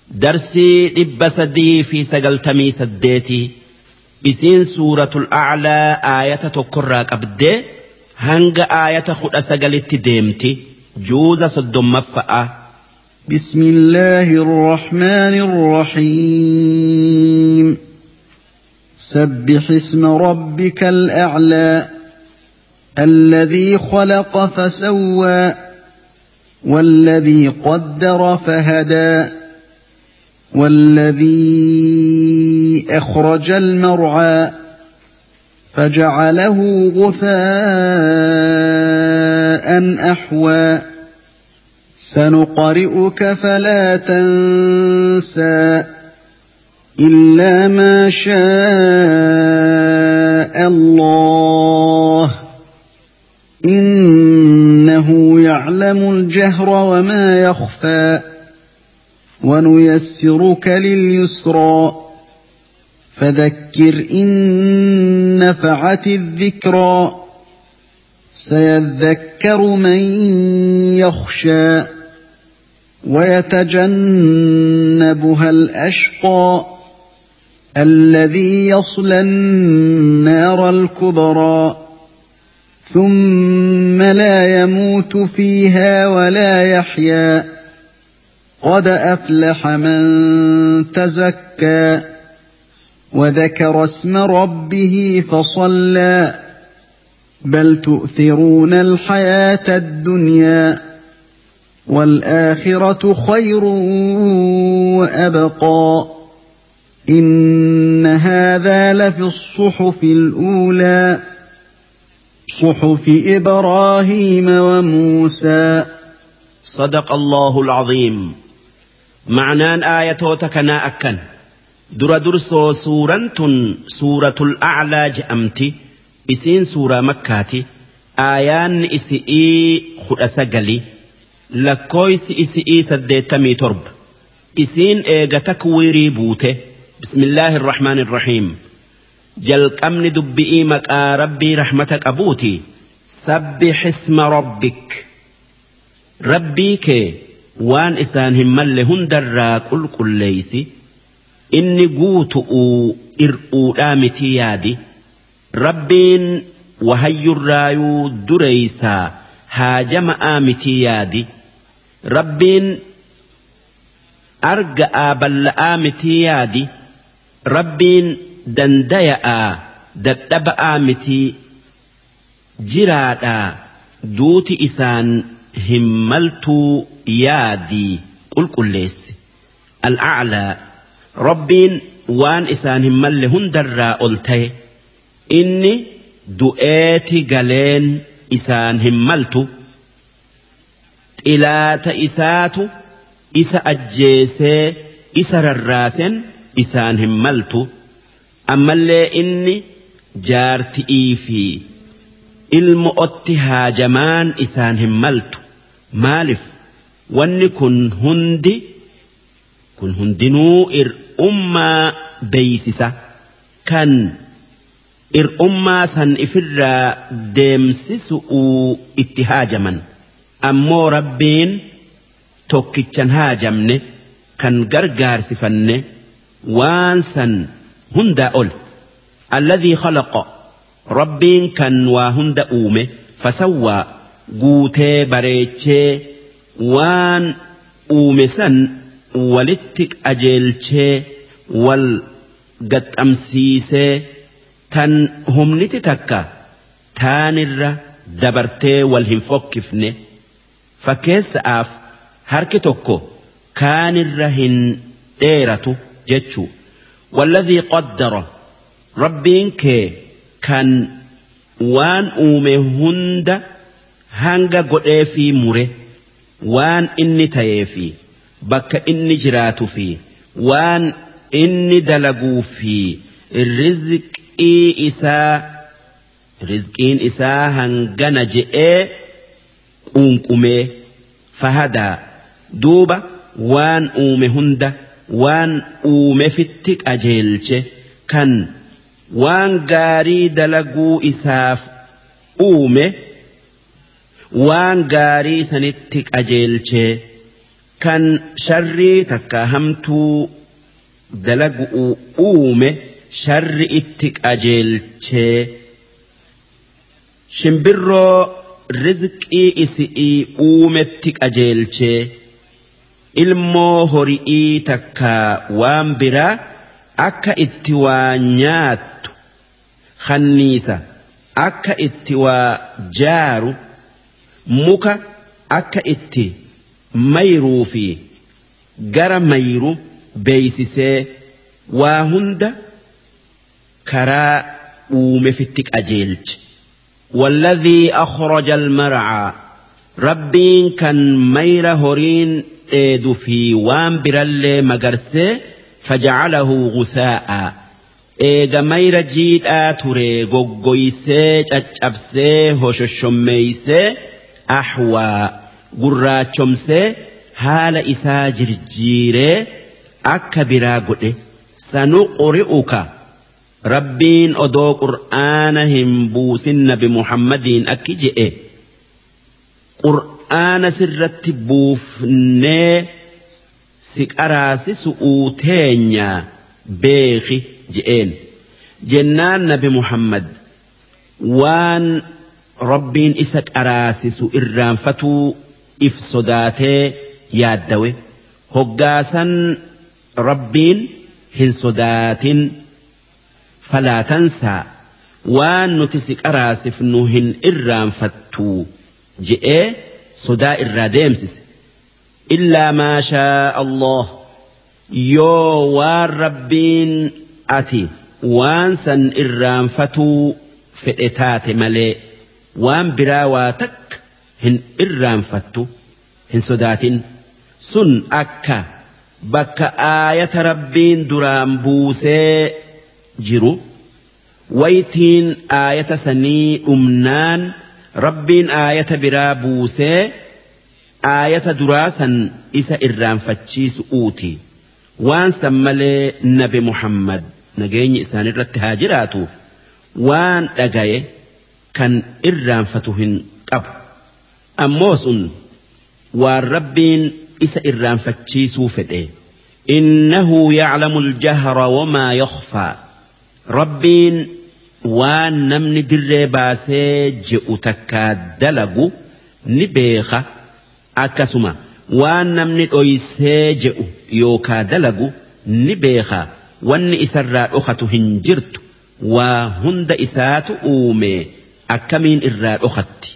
درسي إبسدي في سجلتمي سديتي إسين سورة الأعلى آية تقرأ أبدي هنگ آية خد سجلت ديمتي جوز صدم مفأة. بسم الله الرحمن الرحيم. سبح اسم ربك الأعلى الذي خلق فسوى والذي قدر فهدى والذي أخرج المرعى فجعله غثاء أحوى سنقرئك فلا تنسى إلا ما شاء الله إنه يعلم الجهر وما يخفى ونيسرك لليسرى فذكر إن نفعت الذكرى سيذكر من يخشى ويتجنبها الأشقى الذي يصلى النار الكبرى ثم لا يموت فيها ولا يحيا قد أفلح من تزكى وذكر اسم ربه فصلى بل تؤثرون الحياة الدنيا والآخرة خير وأبقى إن هذا لفي الصحف الأولى صحف إبراهيم وموسى. صدق الله العظيم. معنان آياتوتكنا أكن درسو سورة الأعلى جأمتي إسين سورة مكاتي آيان إسئي خرأس قلي لكويس إسئي سديتمي ترب إسين إيغا تكويري بوته. بسم الله الرحمن الرحيم. جلق أمن دبئي مكا ربي رحمتك أبوتي. سبح اسم ربك ربي كي وان إسان همال هندر كل ليسي إني قوتؤ إرؤو آمتي يادي ربين وهي الرايو دريسا هاجم آمتي يادي ربين أرقى بل آمتي يادي ربين دنديا دتب آمتي جرادا دوتي إسان هملتو يادي قل ليس الأعلى ربين وان إسان همال هندر قلتي إني دؤاتي قلين إسان هملتو إلا تإساتو إسا أجيسي إسا الراسن إسان هملتو أما اللي إني جارتئي في المؤتي هاجمان إسان هملتو مالف واني كن هندنو أمة بيسسة كان أمة سن إفر ديمسسو اتهاجما أمو ربين توكيتشن هاجمني كان غرغار سفني وانسن هندا أول الذي خلق ربين كان وهندا أومي فسوى قوتي بريتشي وان أومي سن ولتك أجيلشي والقد أمسيسي تن هم نتتكا تانر دبرتي والهنفوكفني فكيس آف هركتوكو كان الرهن ديرتو جتشو والذي قدر ربين كي كان وان أومي هند هنگا قد في مري وان إني تيفي بك إني جراتو في وان إني دلقو في الرزق رزقين إسا هنگنا جئ قنقمي فهدا دوبا وان أومي هند وان أومي فتك أجيلش كان وان غاري دلقو إساف أومي وان غاري سنتك أجيلش كان شري تكاهمتو دلقوا أومه شر اتك أجلتشي شمبرو رزقي إسئي أومتك أجلتشي ilmoo horii takka waan biraa akka itti waa nyaattu kanniisa akka itti waa jaaru muka akka itti mayruu fi gara mayru beeysisee waa hunda karaa uumefitti qajeelche والذي أخرج المرعى ربين كان مير هورين eedu fi waan birallee magarsee faja'alahu gusaa'a eega mayra jiidhaa ture goggoysee caccabsee hoshoshommeeysee ahwaa gurraachomsee haala isaa jirjiiree akka biraa godhe sanuqri'uka rabbiin odoo qur'aana hin buusin nabi muhammadiin akki je'e qur'aana sirratti buufnee si qaraasisu'uu teenya beeki je'een jennaan nabi muhammad waan rabbiin isa qaraasisu irraanfatuu if sodaatee yaaddawe hoggaasan rabbiin hin sodaatin falaa tansaa waan nuti si qaraasifnu hin irraanfattuu je'ee sodaa irraa deemsise illaa maa shaa Allah yoo waan rabbiin ati waan san irraanfatuu fedhe taate malee waan biraa waa takka hin irraanfattu hin sodaatin sun akka bakka aayata rabbiin duraan buusee jiru waytiin aayata sanii dhumnaan rabbiin aayata biraa buusee aayata duraasan isa irraanfachiisu uuti waan san malee nabi muhammad nageenyi isaanirratti haa jiraatu waan dhagaye kan irraanfatu hin qabu ammoo sun waan rabbiin isa irraanfachiisuu fedhe innahu ya'lamu al-jahra wamaa yakhfaa rabbiin waan namni dirree baasee je'u takkaa dalagu ni beeka akkasuma waan namni dhoysee je'u yookaa dalagu ni beeka wanni isarraa dhokatu hin jirtu waa hunda isaatu uume akkamiin irraa dhokatti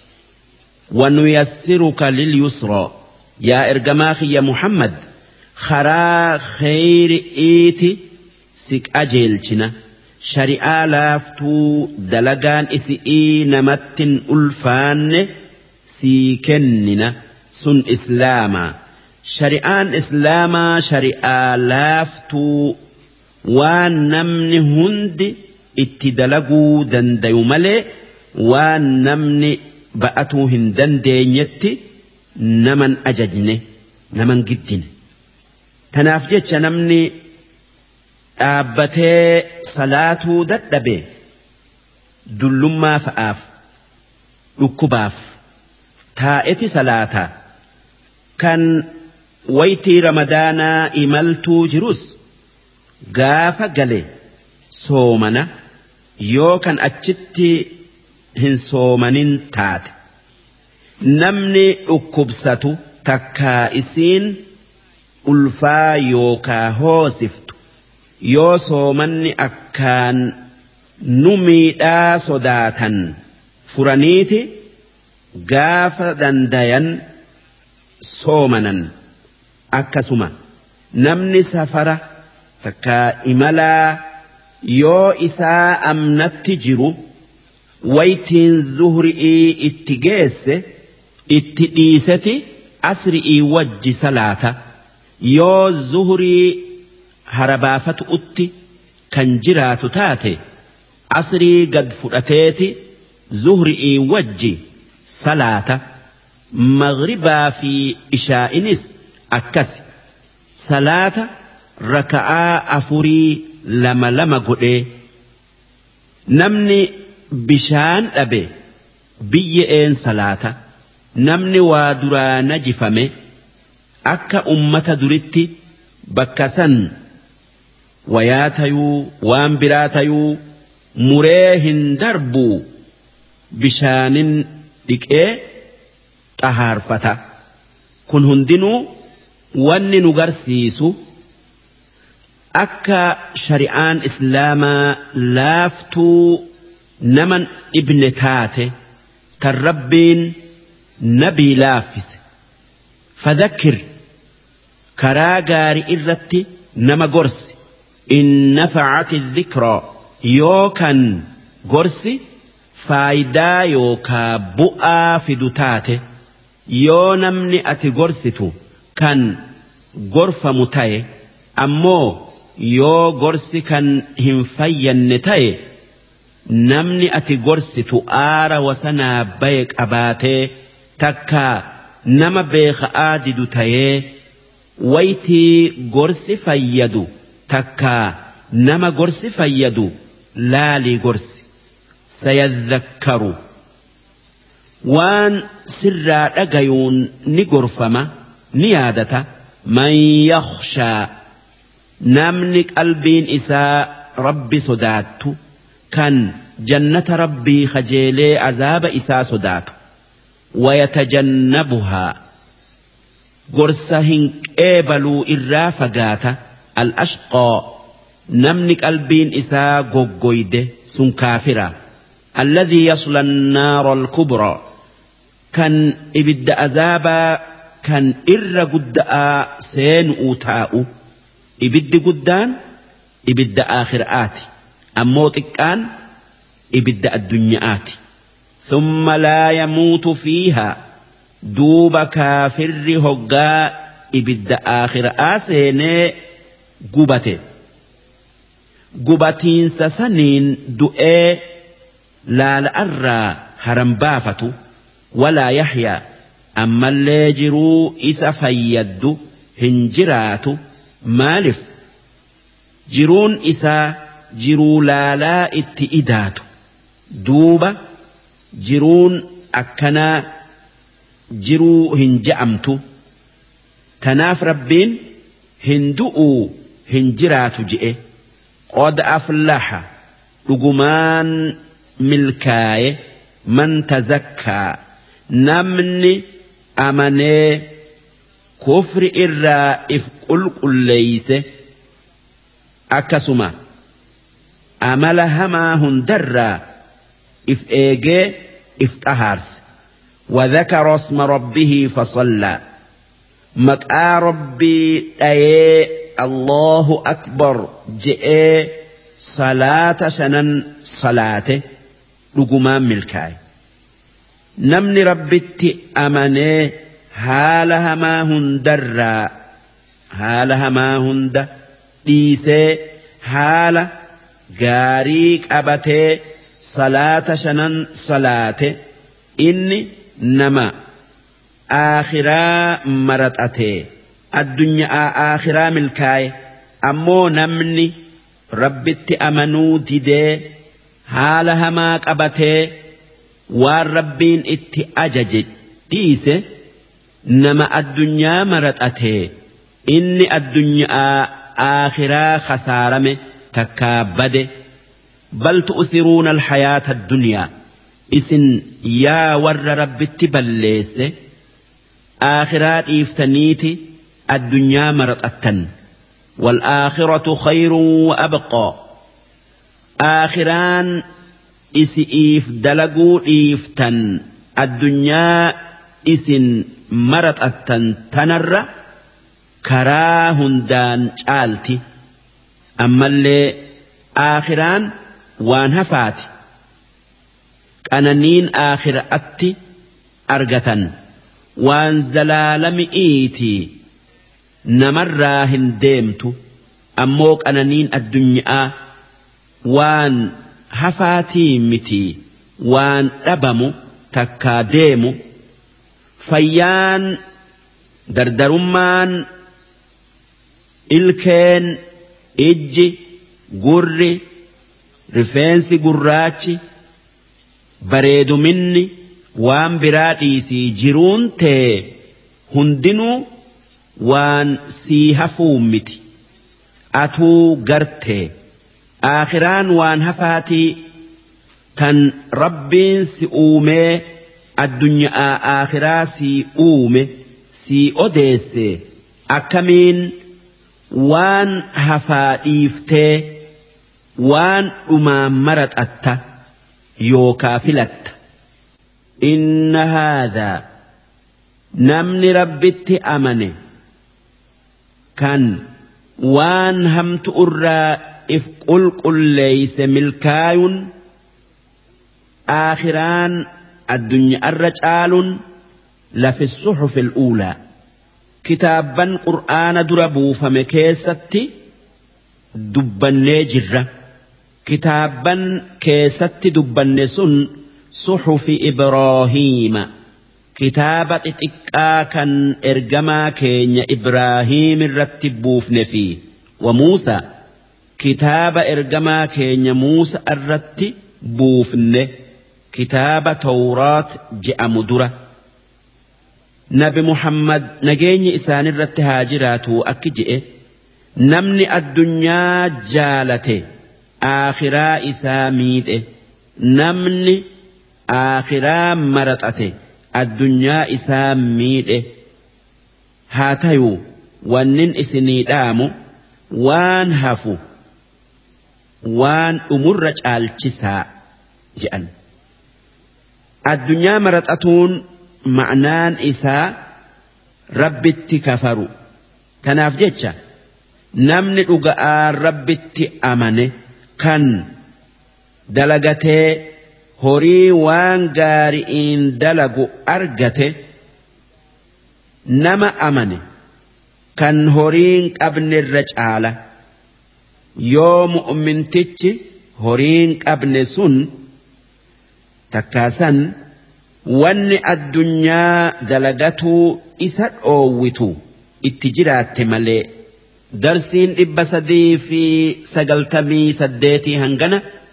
wanuyassiruka lilyusraa yaa ergamaa kiyya muhammad karaa kheyri'iiti si qajeelchina shari'aa laaftuu dalagaan isi'ii namattin ulfaanne sii kennina sun islaamaa shari'aan islaamaa shari'aa laaftuu waan namni hundi itti dalaguu dandayu malee waan namni ba'atuu hin dandeenyetti naman ajajne naman giddine tanaaf jecha namni dhaabbatee salaatuu dadhabe dullummaa fa'aaf dhukkubaaf taa'eti salaataa kan waytii ramadaanaa imaltuu jirus gaafa gale soomana yoo kan achitti hin soomanin taate namni dhukkubsatu takkaa isiin ulfaa yookaa hoosiftu yoo soomanni akkaan nu miidhaa sodaatan furaniiti gaafa dandayan soomanan akkasuma namni safara takkaa imalaa yoo isaa amnatti jiru waytiin zuhri'ii itti geesse itti dhiiseti asri'ii wajji salaata yoo zuhrii harabaafatu utti kan jiraatu taate asrii gad fudhateeti zuhri'ii wajji salaata maghribaa fi ishaa'inis akkasi salaata raka'aa afurii lama lama godhee namni bishaan dhabe biyye'een salaata namni waa duraa najifame akka ummata duritti bakka san wayaa tayuu waan biraa tayuu muree hin darbuu bishaanin dhiqee xahaarfata kun hundinuu wanni nu garsiisu akka shari'aan islaamaa laaftuu naman ibne taate tan rabbiin nabii laaffise fadhakkir karaa gaarii irratti nama gorsi in nafacati dhikraa yookan gorsi faayidaa yookaa bu'aa fidu taate yoo namni ati gorsitu kan gorfamu ta'e ammoo yoo gorsi kan hin fayyanne ta'e namni ati gorsitu aara wasanaa baye qabaatee takka nama beeka'aa didu ta'ee waytii gorsi fayyadu takka nama gorsi fayyadu laalii gorsi sayadhakkaru waan sirraa dhagayuun ni gorfama ni yaadata man yakhshaa namni qalbiin isaa rabbi sodaattu kan jannata rabbii khajeelee azaaba isaa sodaatu wayatajannabuhaa gorsa hin qeebaluu irraa fagaata al-ashqaa namni qalbiin isaa goggoyde sun kaafira alladhii yasla an-naara al-kubraa kan ibidda azaabaa kan irra guddaa seenuu taa'u ibiddi guddaan ibidda aakhiraati ammoo xiqqaan ibidda addunyaati thumma laa yamuutu fiihaa duuba kaafirri hoggaa ibidda aakhiraa seenee gubate gubatiinsa saniin du'ee laala'arraa haram baafatu walaa yahyaa ammallee jiruu isa fayyaddu hin jiraatu maalif jiruun isaa jiruu laalaa itti idaatu duuba jiruun akkanaa jiruu hin je'amtu tanaaf rabbiin hin du'uu hin jiraatu je'e qad aflaha dhugumaan milkaaye man tazakkaa namni amanee kufri irraa if qulqulleeyse akkasuma amala hamaa hundarraa if eegee if xahaarse وذكر اسم ربه فصلى مقا ربي ايه الله أكبر جئ صلاة شنن صلاته لقمان ملكاي نمني ربتي أمني هالها ما هندر هالها ما هند ديسي هال غاريك أبتي صلاة شنن صلاته إني نما آخرا مرتأتي الدنيا آخرا ملكاي أمو نمني ربتي أمنو ديدي حالها ما قبتي والربين اتي أجج ديسي نما الدنيا مرتأتي إني الدنيا آخرا خسارمي تكابد بل تؤثرون الحياة الدنيا إسن يا ور ربتي بليس آخرات إفتنيتي الدنيا مرتأتن والآخرة خير وأبقى آخران إسئيف دلقوا إفتن الدنيا إسن مرتأتن تنر كراهندان شالتي أما اللي آخران وانهفاتي أنانين آخر أتي أرغتن وان زلالم إيتي نمراهن ديمتو أموك أنانين الدنيا وان هفاتي متي وان أبمو تكا ديمو فيان دردرمان إلكين إجي قري رفنسي قراتي bareedu minni waan biraa dhiisii jiruun tee hundinuu وان سيها فومت أتو قرتي آخران وان هفاتي تن ربين سيؤومي الدنيا آخرا سيؤومي سيؤديسي أكمين وان هفائيفتي وان أمامرت أتا يوكا فلت إن هذا نمني ربت أمني كان وان همت أرى إف قل ليس ملكاي آخران الدنيا الرجال لفي الصحف الأولى كتابا قرآن دربو فمكيستي دبن جرة كتابا كيستي دبن سن صحف إبراهيم كتابة إتكاكا إرجما كين إبراهيم الرتبوف نفي وموسى كتاب إرجما كين موسى الرتبوف كتاب توراة جاء مدرة نبي محمد نجيني إسان الرتهاجرات أكجئ نمني الدنيا جالته آخرا إساميد نمني آخرا مرتأته الدنيا إساميد هاتيو ونن إسني دامو وان هفو وان أمرج الجساء جأن الدنيا مرتأتون معنان إساء ربت كفروا تناف جيتشا نمني رقاء ربت أمني كان دلقته هوري وان غارئين دلقوا أرقته نما أمني كان هورين ابن الرجالة يوم أمنتج هورين ابن سن تكاسن وان الدنيا دلقته إسد أووتو اتجرات ملي درسين إبسدي في سقلتمي سديتي هنغنا